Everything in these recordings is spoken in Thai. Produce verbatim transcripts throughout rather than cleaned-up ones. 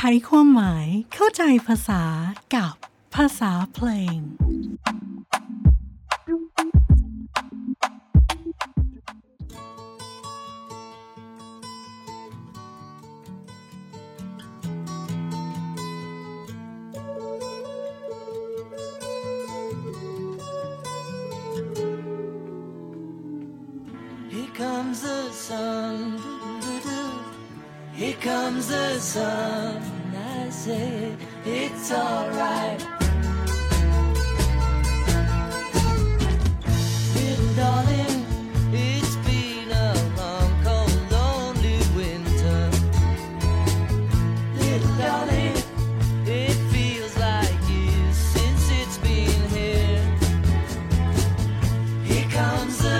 ความหมายเข้าใจภาษากับภาษาเพลง Comes the sun, here comes the sun. I say it's alright, little darling. It's been a long, cold, lonely winter, little darling. It feels like years since it's been here. Here comes the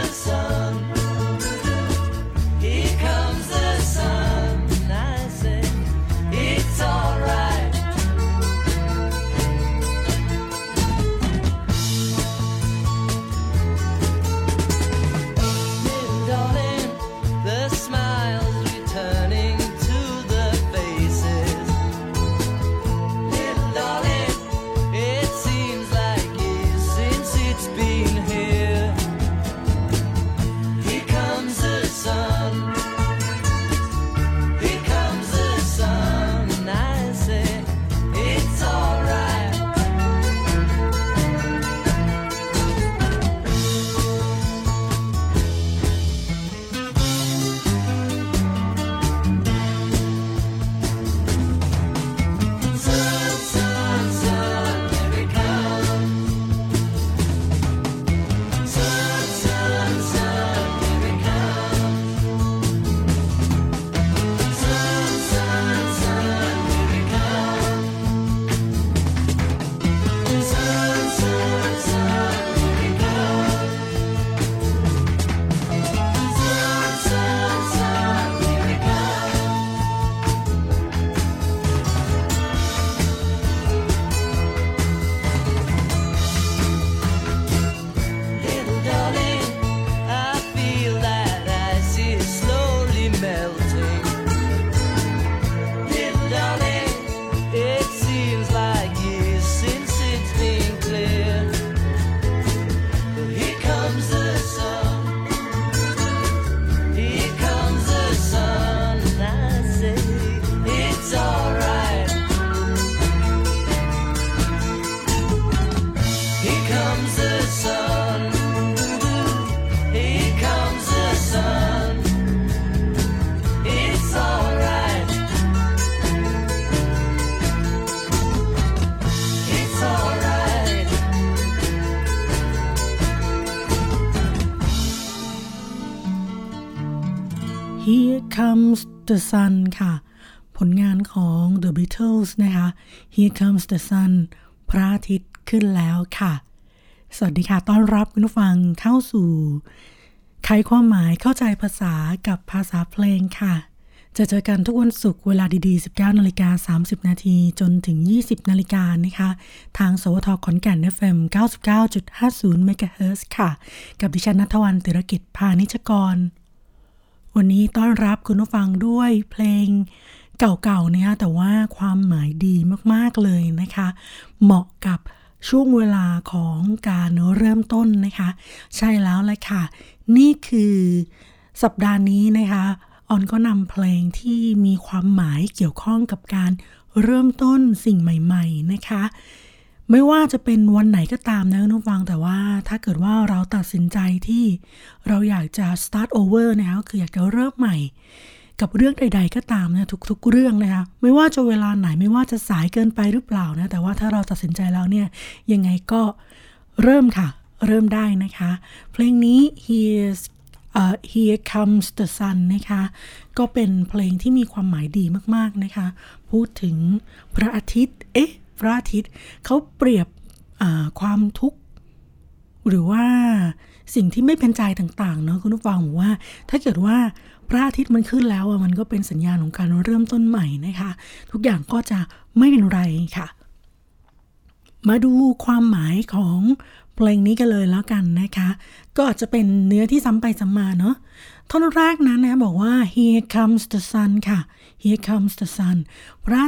Here Comes the Sun ค่ะผลงานของ The Beatles นะคะ Here Comes the Sun พระอาทิตย์ขึ้นแล้วค่ะสวัสดีค่ะต้อนรับคุณผู้ฟังเข้าสู่ไขความหมายเข้าใจภาษากับภาษาเพลงค่ะจะเจอกันทุกวันศุกร์เวลาดีๆ สิบเก้านาฬิกาสามสิบนาทีจนถึงยี่สิบนาฬิกานะคะทางสวทขอนแก่น เอฟ เอ็ม เก้าสิบเก้าจุดห้าศูนย์ เมกะเฮิรตซ์ ค่ะกับดิฉันณัฐวรรณ ติรกิจพานิชกรวันนี้ต้อนรับคุณผู้ฟังด้วยเพลงเก่าๆนะคะแต่ว่าความหมายดีมากๆเลยนะคะเหมาะกับช่วงเวลาของการเริ่มต้นนะคะใช่แล้วแหละค่ะนี่คือสัปดาห์นี้นะคะออนก็นำเพลงที่มีความหมายเกี่ยวข้องกับการเริ่มต้นสิ่งใหม่ๆนะคะไม่ว่าจะเป็นวันไหนก็ตามนะคุณผู้ฟังแต่ว่าถ้าเกิดว่าเราตัดสินใจที่เราอยากจะ start over นะคะคืออยากจะเริ่มใหม่กับเรื่องใดๆก็ตามนะทุกๆเรื่องนะคะไม่ว่าจะเวลาไหนไม่ว่าจะสายเกินไปหรือเปล่านะแต่ว่าถ้าเราตัดสินใจแล้วเนี่ยยังไงก็เริ่มค่ะเริ่มได้นะคะเพลงนี้ Here's uh, Here Comes the Sun นะคะก็เป็นเพลงที่มีความหมายดีมากๆนะคะพูดถึงพระอาทิตย์เอ๊ะพระอาทิตย์เขาเปรียบความทุกข์หรือว่าสิ่งที่ไม่เป็นใจต่างๆเนาะคุณผู้ฟังบอกว่าถ้าเกิดว่าพระอาทิตย์มันขึ้นแล้วมันก็เป็นสัญญาณของการเริ่มต้นใหม่นะคะทุกอย่างก็จะไม่เป็นไรค่ะมาดูความหมายของเพลงนี้กันเลยแล้วกันนะคะก็อาจจะเป็นเนื้อที่ซ้ำไปซ้ำมาเนาะท่อนแรกนั้นนะบอกว่า Here comes the sun ค่ะ Here comes the sun พระอาทิตย์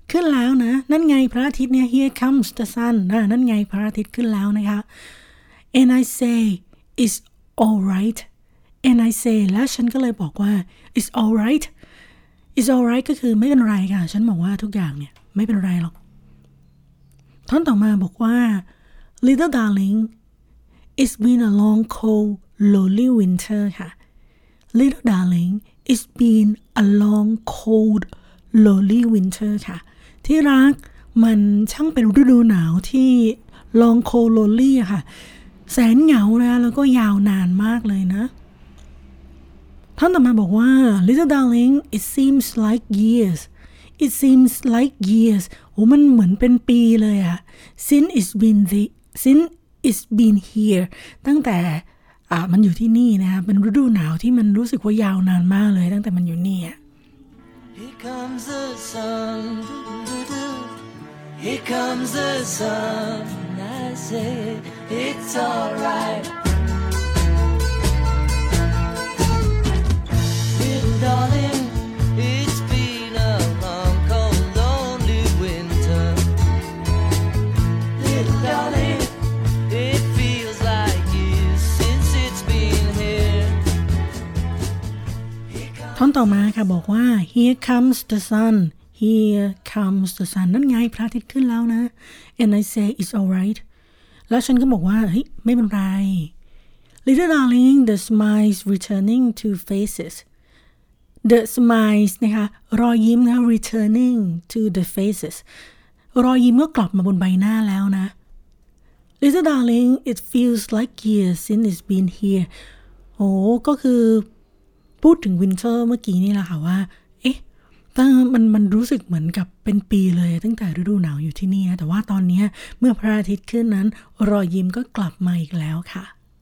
ขึ้นแล้วนะนั่นไงพระอาทิตย์เนี่ย here comes the sun นะนั่นไงพระอาทิตย์ขึ้นแล้วนะคะ and I say it's alright and I say แล้วฉันก็เลยบอกว่า it's alright it's alright ก็คือไม่เป็นไรค่ะฉันบอกว่าทุกอย่างเนี่ยไม่เป็นไรหรอกท่อนต่อมาบอกว่า little darling it's been a long cold lonely winter ค่ะ little darling it's been a long cold lonely winter ค่ะที่รักมันช่างเป็นฤดูหนาวที่ long cold lonely อะค่ะแสนเหงานะแล้วก็ยาวนานมากเลยนะท่านต่อมาบอกว่า little darling it seems like years it seems like years โอ้มันเหมือนเป็นปีเลยอะ since it's been the since it's been here ตั้งแต่อ่ามันอยู่ที่นี่นะคะเป็นฤดูหนาวที่มันรู้สึกว่ายาวนานมากเลยตั้งแต่มันอยู่นี่อะ Here comes the sun, here comes the sun, I say it's alright. Little darling, it's been a long, cold, lonely winter. Little darling, it feels like years since it's been here. ท่อนต่อมาค่ะบอกว่า here comes the sun here comes the sun นั่นไงพระอาทิตย์ขึ้นแล้วนะ and I say it's alright แล้วฉันก็บอกว่าเฮ้ยไม่เป็นไร little darling the smiles returning to faces the smiles นะคะรอยยิ้มนะ returning to the faces รอยยิ้มก็กลับมาบนใบหน้าแล้วนะ little darling it feels like years since it's been here โอ้ก็คือพูดถึงวินเทอร์เมื่อกี้นี่แหละค่ะว่าเอ๊ะตั้งมันมันรู้สึกเหมือนกับเป็นปีเลยตั้งแต่ฤดูหนาวอยู่ที่นี่นะแต่ว่าตอนนี้เมื่อพระอาทิตย์ขึ้นนั้นรอยยิ้มก็กลับมาอีกแล้วค่ะ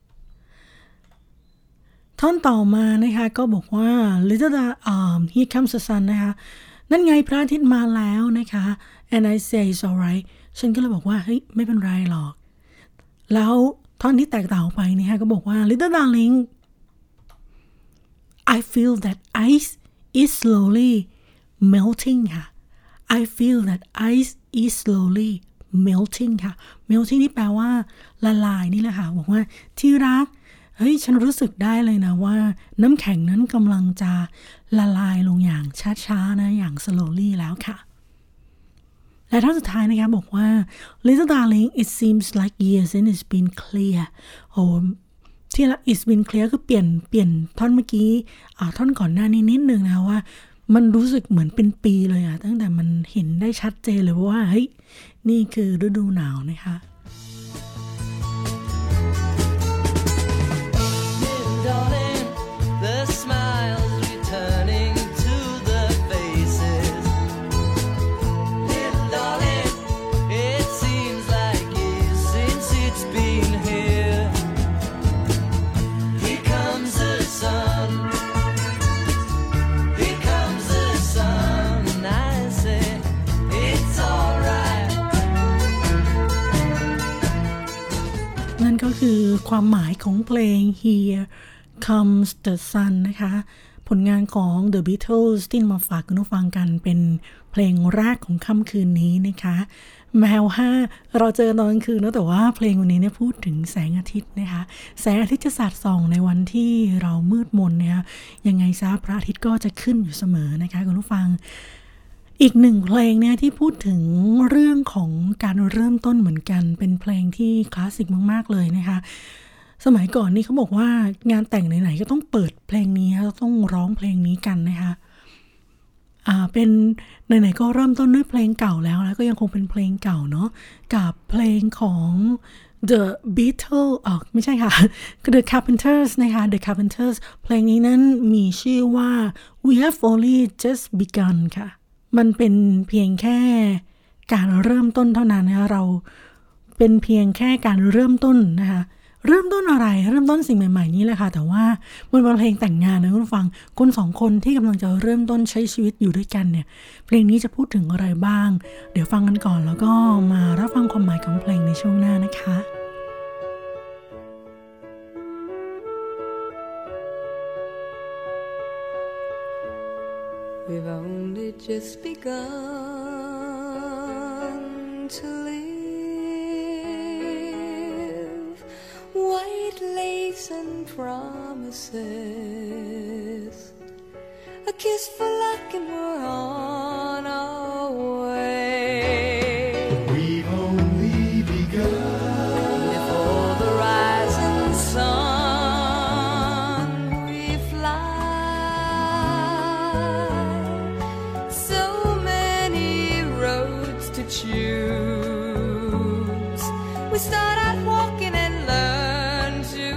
ท่อนต่อมานะคะก็บอกว่า little um here comes the sun นะคะนั่นไงพระอาทิตย์มาแล้วนะคะ and I say it's alright ฉันก็เลยบอกว่าเฮ้ยไม่เป็นไรหรอกแล้วท่อนที่แตกต่างไปนะคะก็บอกว่า little darling I feel that ice is slowly melting ค่ะ I feel that ice is slowly melting ค่ะ melting นี่แปลว่าละลายนี่แหละค่ะบอกว่าที่รักเฮ้ยฉันรู้สึกได้เลยนะว่าน้ำแข็งนั้นกำลังจะละลายลงอย่างช้าๆนะอย่าง slowly แล้วค่ะและท่อนสุดท้ายนะคะบอกว่า little darling it seems like years and it's been clear โอ้ที่ละ it's been clear คือเปลี่ยนเปลี่ยนท่อนเมื่อกี้อ่าท่อนก่อนหน้านี้นิดนึงนะว่ามันรู้สึกเหมือนเป็นปีเลยอะตั้งแต่มันเห็นได้ชัดเจนเลยว่าเฮ้ยนี่คือฤดูหนาวนะคะ Little darling, the smiles returning to the faces. Little darling, it seems like years since it's been here. Here comes the sun. Here comes the sun. I say it's alright. นั่นก็คือความหมายของเพลง Here Comes the Sun นะคะผลงานของ The Beatles ที่มาฝากคุณผู้ฟังกันเป็นเพลงแรกของค่ำคืนนี้นะคะแมวห้าเราเจอตอนกลางคืนนะแต่ว่าเพลงวันนี้เนี่ยพูดถึงแสงอาทิตย์นะคะแสงอาทิตย์จะสาดส่องในวันที่เรามืดมนนะคะยังไงซะพระอาทิตย์ก็จะขึ้นอยู่เสมอนะคะคุณผู้ฟังอีกหนึ่งเพลงเนี่ยที่พูดถึงเรื่องของการเริ่มต้นเหมือนกันเป็นเพลงที่คลาสสิกมากๆเลยนะคะสมัยก่อนนี่เขาบอกว่างานแต่งไหนๆก็ต้องเปิดเพลงนี้ต้องร้องเพลงนี้กันนะคะอ่าเป็นไหนๆก็เริ่มต้นด้วยเพลงเก่าแล้วแล้วก็ยังคงเป็นเพลงเก่าเนาะกับเพลงของ The Beatles อ๋อไม่ใช่ค่ะ The Carpenters นะคะ The Carpenters เพลงนี้นั้นมีชื่อว่า We Have Only Just Begun ค่ะมันเป็นเพียงแค่การเริ่มต้นเท่านั้นนะคะเราเป็นเพียงแค่การเริ่มต้นนะคะเริ่มต้นอะไรเริ่มต้นสิ่งใหม่ๆนี่แหละค่ะแต่ว่ามันเป็นเพลงแต่งงานนะคุณผู้ฟังคนสองคนที่กำลังจะเริ่มต้นใช้ชีวิตอยู่ด้วยกันเนี่ยเพลงนี้จะพูดถึงอะไรบ้างเดี๋ยวฟังกันก่อนแล้วก็มารับฟังความหมายของเพลงในช่วงหน้านะคะ We've only just begun to live. White lace and promises, a kiss for luck and we're on our way. We've only begun. Before the rising sun we fly. So many roads to choose. We start out walking and learn to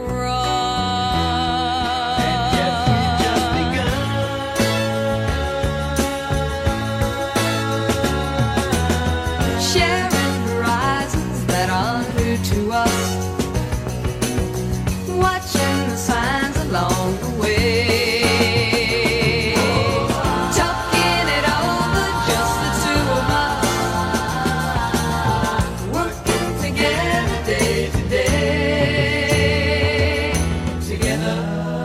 run. And yet we've just begun. Sharing horizons that are new to us, watching the signs along the way, talking it over, just the two of us, working together day to day, together.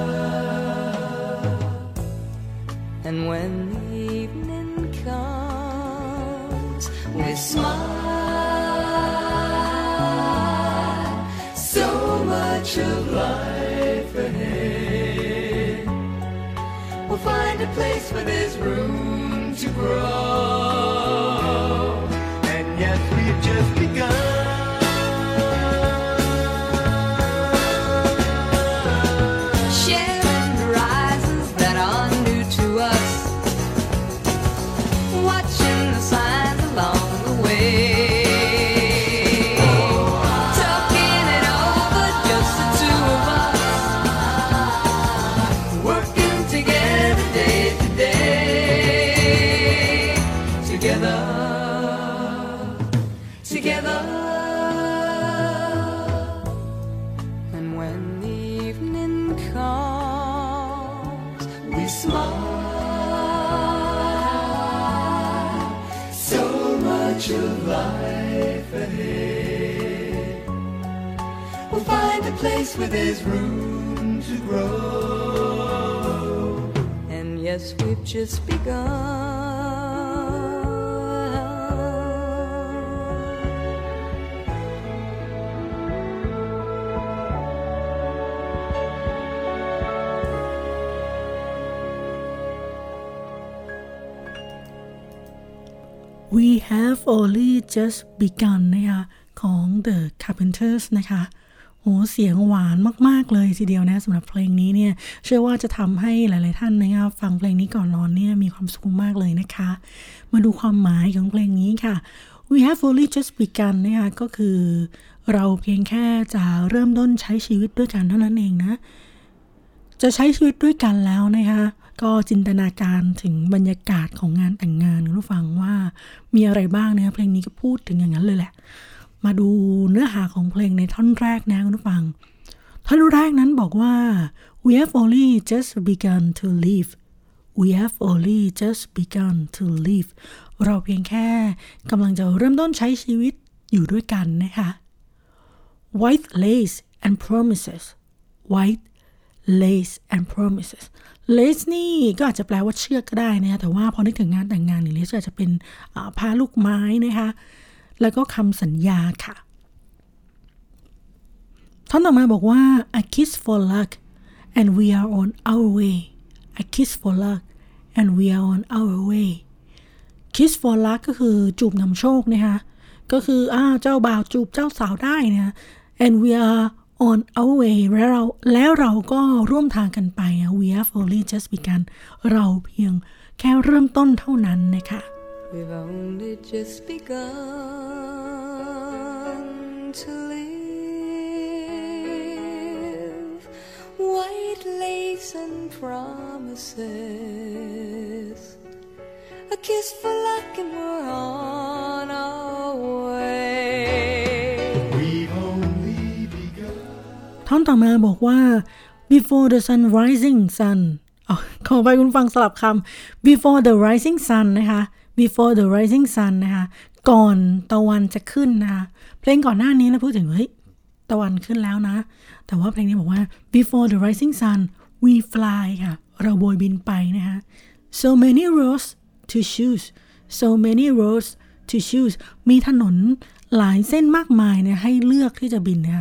And when the evening comes, we smile. So much of life ahead. We'll find a place where there's room to grow. And yet we've just begun. Sharing horizons that are new to us, watching the signs along the way, talking it over, just the two of us, working together day to day, together, together. And when the evening comes, we smile. So much of life ahead. We'll find a place where there's room to grow. And yes, we've just begun. We have only just begun นะคะของ The Carpenters นะคะโหเสียงหวานมากๆเลยทีเดียวนะสำหรับเพลงนี้เนี่ยเชื่อว่าจะทำให้หลายๆท่านนะคะฟังเพลงนี้ก่อนนอนเนี่ยมีความสุขมากเลยนะคะมาดูความหมายของเพลงนี้ค่ะ We have only just begun นะคะก็คือเราเพียงแค่จะเริ่มต้นใช้ชีวิตด้วยกันเท่านั้นเองนะจะใช้ชีวิตด้วยกันแล้วนะคะก็จินตนาการถึงบรรยากาศของงานแต่งงานคุณผู้ฟังว่ามีอะไรบ้างนะเพลงนี้ก็พูดถึงอย่างนั้นเลยแหละมาดูเนื้อหาของเพลงในท่อนแรกนะคุณผู้ฟังท่อนแรกนั้นบอกว่า We have only just begun to live We have only just begun to live เราเพียงแค่กำลังจะเริ่มต้นใช้ชีวิตอยู่ด้วยกันนะคะ White lace and promises White lace and promises lace นี่ก็อาจจะแปลว่าเชือกก็ได้นะคะแต่ว่าพอนึกถึงงานแต่งงานนี่ lace อาจจะเป็นผ้าลูกไม้นะคะแล้วก็คำสัญญาค่ะท่อนต่อมาบอกว่า a kiss for luck and we are on our way a kiss for luck and we are on our way kiss for luck ก็คือจูบนำโชคนะคะก็คืออ้าวเจ้าบ่าวจูบเจ้าสาวได้นะ and we are on our way แล้วเราแล้วเราก็ร่วมทางกันไป we have only just begun เราเพียงแค่เริ่มต้นเท่านั้นนะคะ We've only just begun to live. White lace and promises, a kiss for luck and we're on our way. We've only begun. ท่อนต่อมาบอกว่า before the sun rising sun อ๋อขอไปคุณฟังสลับคำ before the rising sun นะคะ before the rising sun นะคะก่อนตะวันจะขึ้นนะคะเพลงก่อนหน้านี้เราพูดถึงเฮ้ยตะวันขึ้นแล้วนะแต่ว่าเพลงนี้บอกว่า before the rising sun we fly ค่ะเราโบยบินไปนะคะ so many roads to choose so many roads to choose มีถนนหลายเส้นมากมายเนี่ยให้เลือกที่จะบินนะคะ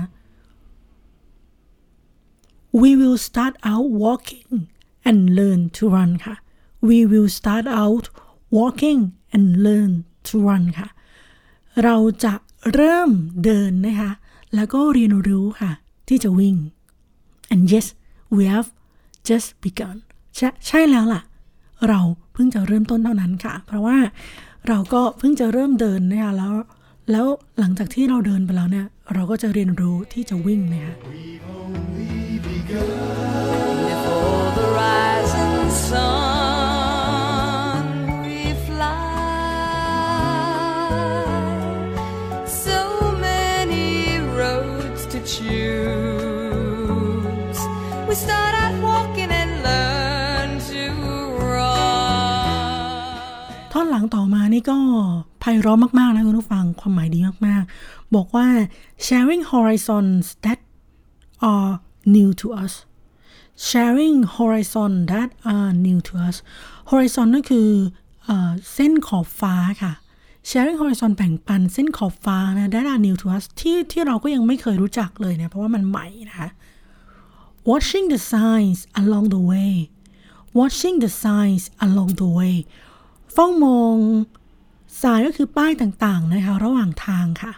We will start out walking and learn to run ค่ะ We will start out walking and learn to run ค่ะเราจะเริ่มเดินนะคะแล้วก็เรียนรู้ค่ะที่จะวิ่ง and yes we have just begun ใช่ใช่แล้วล่ะเราเพิ่งจะเริ่มต้นเท่านั้นค่ะเพราะว่าเราก็เพิ่งจะเริ่มเดินนะคะแล้วแล้วหลังจากที่เราเดินไปแล้วเนี่ยเราก็จะเรียนรู้ที่จะวิ่งนะคะ We've only begun. Before the rising sun, we fly. So many roads to choose. We start out walking and learn to run. ท่อนหลังต่อมานี่ก็ไพเราะมากๆนะคุณผู้ฟังความหมายดีมากๆบอกว่า sharing horizons that are new to us sharing horizon that are new to us horizon นั่นคือเอ่อเส้นขอบฟ้าค่ะ sharing horizon แบ่งปันเส้นขอบฟ้านะ that are new to us ที่ที่เราก็ยังไม่เคยรู้จักเลยนะเพราะว่ามันใหม่นะคะ watching the signs along the way watching the signs along the way เฝ้ามองสายก็คือป้ายต่างๆนะคะระหว่างทางค่ะ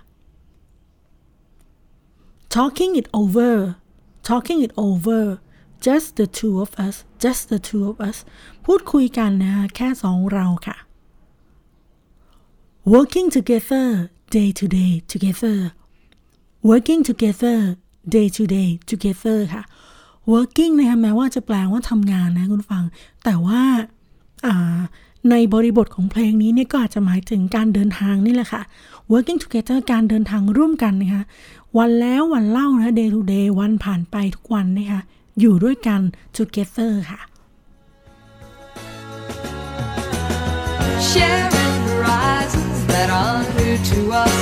talking it over talking it over just the two of us just the two of us พูดคุยกันนะคะแค่สองเราค่ะ working together day to day together working together day to day together ค่ะ working นะคะแม้ว่าจะแปลว่าทำงานนะคุณฟังแต่ว่าอ่าในบริบทของเพลงนี้เนี่ยก็อาจจะหมายถึงการเดินทางนี่แหละค่ะ working together การเดินทางร่วมกันนะคะวันแล้ววันเล่านะ day to day วันผ่านไปทุกวันนะคะอยู่ด้วยกัน together ค่ะ Sharing horizons that are new to us.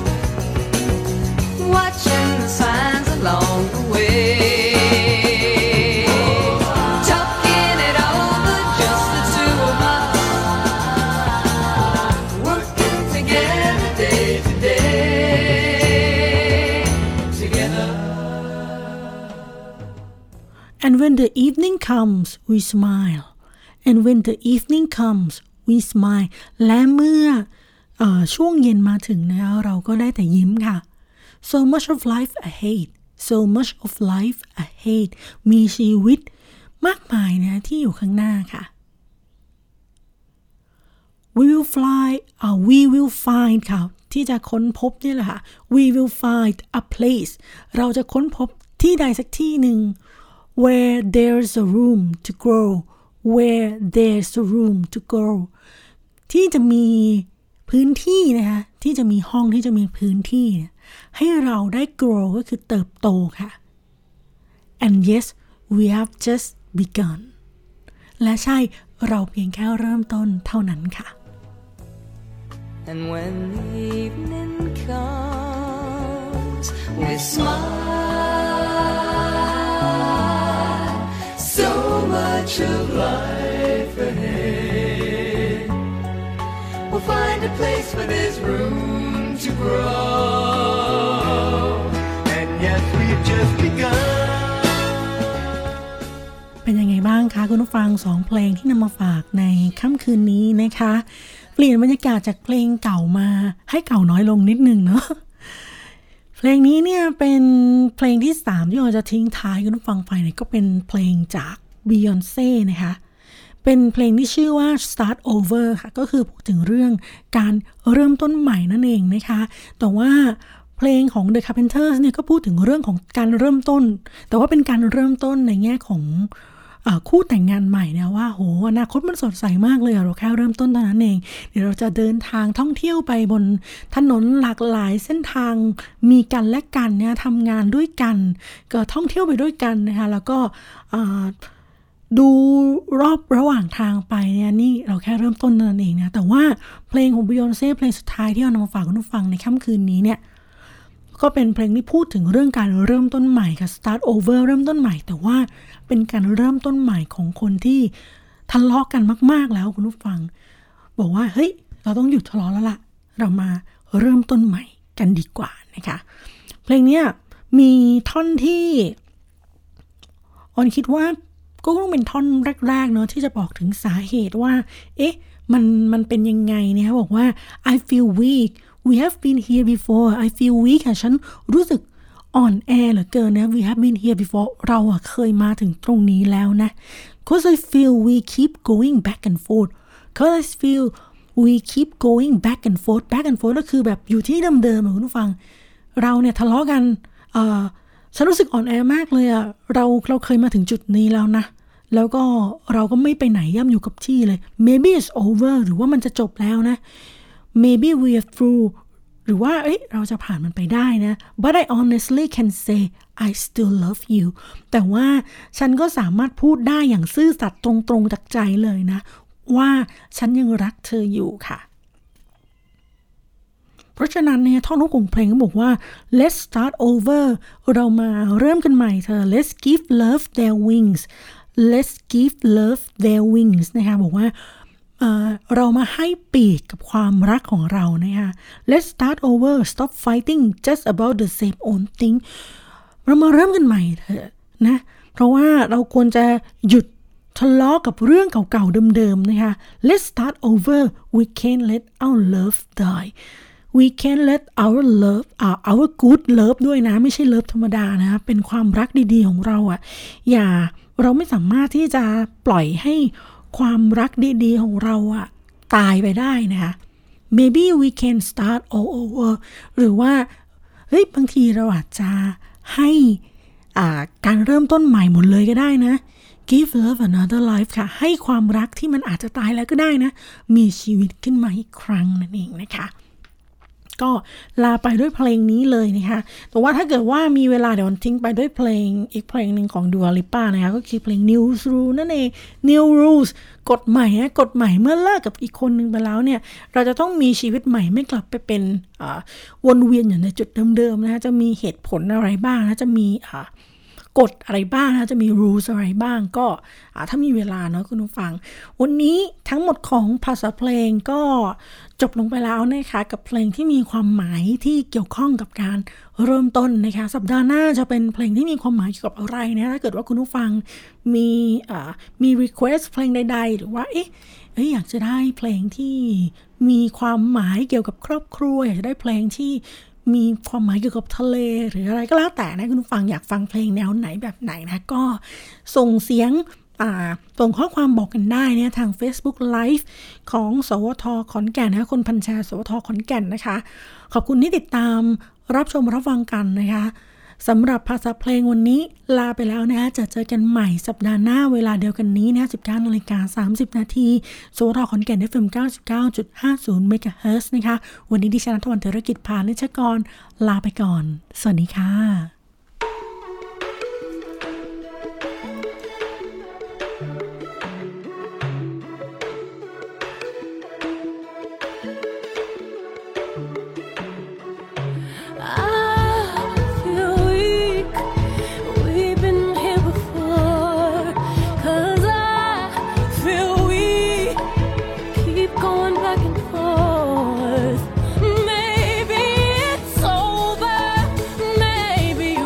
Watching the signs along the way. Talking it over, just the two of us. Working together day to day. Together. and when the evening comes we smile and when the evening comes we smile และเมื่อเอ่อช่วงเย็นมาถึงนะคะเราก็ได้แต่ยิ้มค่ะ so much of life ahead so much of life ahead มีชีวิตมากมายนะที่อยู่ข้างหน้าค่ะ we will fly uh, we will find ค่ะที่จะค้นพบนี่แหละค่ะ we will find a place เราจะค้นพบที่ใดสักที่หนึ่ง where there's a room to grow where there's a room to grow ที่จะมีพื้นที่นะคะที่จะมีห้องที่จะมีพื้นที่ให้เราได้ grow ก็คือเติบโตค่ะ and yes we have just begun และใช่เราเพียงแค่เริ่มต้นเท่านั้นค่ะ And when the evening comes, we smile. So much of life ahead. We'll find a place where there's room to grow. And yes, we've just begun. เป็นยังไงบ้างคะคุณผู้ฟังสองเพลงที่นำมาฝากในค่ำคืนนี้นะคะเปลี่ยนบรรยากาศจากเพลงเก่ามาให้เก่าน้อยลงนิดนึงเนาะเพลงนี้เนี่ยเป็นเพลงที่สามที่เราจะทิ้งท้ายคุณผู้ฟังไปเนี่ยก็เป็นเพลงจาก Beyoncé นะคะเป็นเพลงที่ชื่อว่า Start Over ค่ะก็คือพูดถึงเรื่องการเริ่มต้นใหม่นั่นเองนะคะแต่ว่าเพลงของ The Carpenters เนี่ยก็พูดถึงเรื่องของการเริ่มต้นแต่ว่าเป็นการเริ่มต้นในแง่ของคู่แต่งงานใหม่เนี่ยว่าโหอนาคตมันสดใสมากเลยเราแค่เริ่มต้นเท่านั้นเองเดี๋ยวเราจะเดินทางท่องเที่ยวไปบนถนนหลากหลายเส้นทางมีกันและกันเนี่ยทำงานด้วยกันก็ท่องเที่ยวไปด้วยกันนะคะแล้วก็ดูรอบระหว่างทางไปเนี่ยนี่เราแค่เริ่มต้นเท่านั้นเองนะแต่ว่าเพลงของ Beyoncé เพลงสุดท้ายที่เอานำมาฝากคุณผู้ฟังในค่ำคืนนี้เนี่ยก็เป็นเพลงที่พูดถึงเรื่องการเริ่มต้นใหม่ค่ะ start over เริ่มต้นใหม่แต่ว่าเป็นการเริ่มต้นใหม่ของคนที่ทะเลาะกันมากๆแล้วคุณผู้ฟังบอกว่าเฮ้ยเราต้องหยุดทะเลาะแล้วล่ะเรามาเริ่มต้นใหม่กันดีกว่านะคะเพลงนี้มีท่อนที่ออนคิดว่าก็ต้องเป็นท่อนแรกๆเนาะที่จะบอกถึงสาเหตุว่าเอ๊ะมันมันเป็นยังไงเนี่ยบอกว่า I feel weak we have been here before I feel weak ค่ะฉันรู้สึกอ่อนแอเหลือเกินนะ we have been here before เราอะเคยมาถึงตรงนี้แล้วนะ cause I feel we keep going back and forth cause I feel we keep going back and forth back and forth ก็คือแบบอยู่ที่เดิมๆคุณผู้ฟังเราเนี่ยทะเลาะกันเอ่อฉันรู้สึกอ่อนแอมากเลยอะเราเราเคยมาถึงจุดนี้แล้วนะแล้วก็เราก็ไม่ไปไหนย่ำอยู่กับที่เลย maybe it's over หรือว่ามันจะจบแล้วนะ maybe we are through หรือว่าเอ้ยเราจะผ่านมันไปได้นะ but I honestly can say I still love you แต่ว่าฉันก็สามารถพูดได้อย่างซื่อสัตย์ตรงๆจากใจเลยนะว่าฉันยังรักเธออยู่ค่ะเพราะฉะนั้นเนี่ยท่อนฮุกของเพลงก็บอกว่า let's start over เรามาเริ่มกันใหม่เธอ let's give love their wings let's give love their wings นะคะบอกว่า เอ่อ เรามาให้ปีกกับความรักของเรานะคะ let's start over stop fighting just about the same old thing เรามาเริ่มกันใหม่เถอะนะเพราะว่าเราควรจะหยุดทะเลาะกับเรื่องเก่าๆเดิมๆนะคะ let's start over we can't let our love die we can't let our love uh, our good love ด้วยนะไม่ใช่ love ธรรมดานะเป็นความรักดีๆของเราอ่ะอย่าเราไม่สามารถที่จะปล่อยให้ความรักดีๆของเราอ่ะตายไปได้นะคะ maybe we can start all over หรือว่าเฮ้ยบางทีเราอาจจะให้อ่าการเริ่มต้นใหม่หมดเลยก็ได้นะGive love another life ค่ะให้ความรักที่มันอาจจะตายแล้วก็ได้นะมีชีวิตขึ้นมาอีกครั้งนั่นเองนะคะก็ลาไปด้วยเพลงนี้เลยนะคะแต่ว่าถ้าเกิดว่ามีเวลาเดี๋ยวทิ้งไปด้วยเพลงอีกเพลงหนึ่งของ Dua Lipa นะคะก็คือเพลง New Rules นั่นเอง New Rules กฎใหม่นะกฎใหม่เมื่อเลิกกับอีกคนนึงไปแล้วเนี่ยเราจะต้องมีชีวิตใหม่ไม่กลับไปเป็นวนเวียนอยู่ในจุดเดิมๆนะคะจะมีเหตุผลอะไรบ้างนะจะมีกฎอะไรบ้างนะจะมี rules อะไรบ้างก็ถ้ามีเวลาเนาะคุณผู้ฟังวันนี้ทั้งหมดของภาษาเพลงก็จบลงไปแล้วนะคะกับเพลงที่มีความหมายที่เกี่ยวข้องกับการเริ่มต้นนะคะสัปดาห์หน้าจะเป็นเพลงที่มีความหมายเกี่ยวกับอะไรนะถ้าเกิดว่าคุณผู้ฟังมีมี request เพลงใดๆหรือว่าเอ๊ะอยากจะได้เพลงที่มีความหมายเกี่ยวกับครอบครัวอยากจะได้เพลงที่มีความหมายเกี่ยวกับทะเลหรืออะไรก็แล้วแต่นะคุณผู้ฟังอยากฟังเพลงแนวไหนแบบไหนนะก็ส่งเสียงส่งข้อความบอกกันได้เนี่ยทาง Facebook Live ของสวทขอนแก่นนะคนพันแชร์สวทขอนแก่นนะคะขอบคุณที่ติดตามรับชมรับฟังกันนะคะสำหรับภาษาเพลงวันนี้ลาไปแล้วนะจะเจอกันใหม่สัปดาห์หน้าเวลาเดียวกันนี้นะ สิบเก้านาฬิกาสามสิบนาทีสวทขอนแก่น เอฟ เอ็ม เก้าสิบเก้าจุดห้าศูนย์ เมกะเฮิรตซ์นะคะวันนี้ดิฉันณัฐวรรณ เทรกิจพานิชกรลาไปก่อนสวัสดีค่ะ Maybe it's over, maybe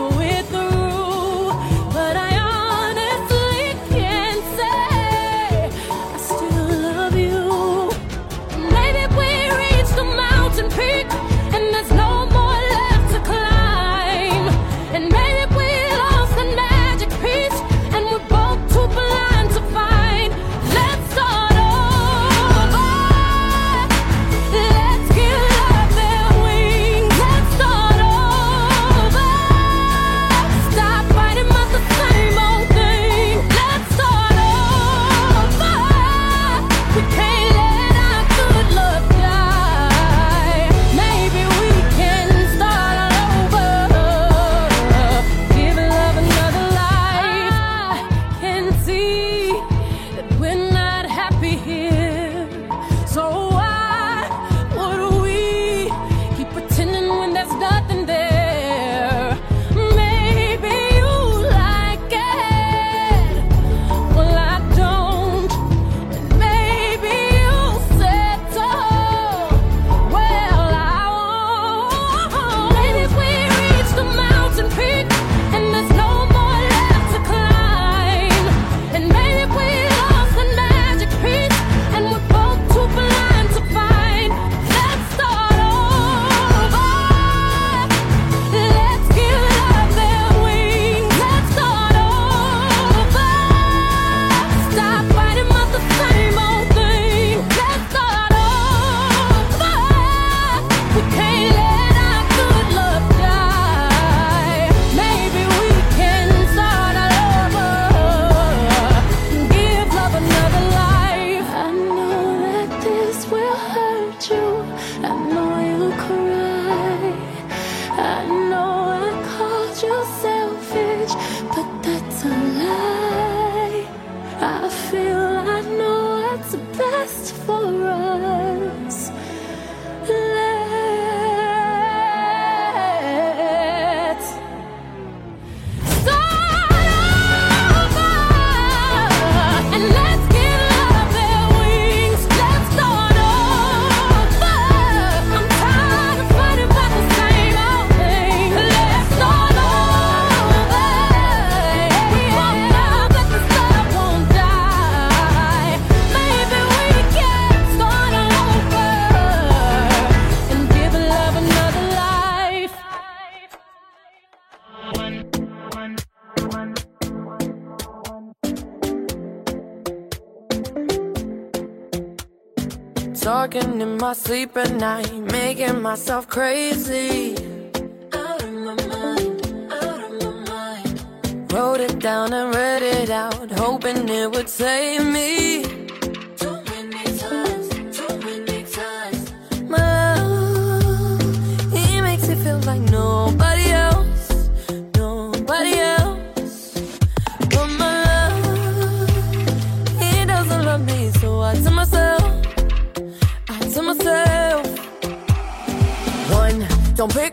best for us. Let's start over and let's give love their wings. Let's start over. I'm tired of fighting about the same old thing. Let's start over. Won't know that the start won't die. Maybe we can start over and give love another life. Talking in my sleep at night, making myself crazy. Out of my mind, out of my mind. Wrote it down and read it out, hoping it would save me. Too many times, too many times. My love, he makes me feel like nobody else, nobody else. But my love, he doesn't love me, so I tell myself, to myself, one, don't pick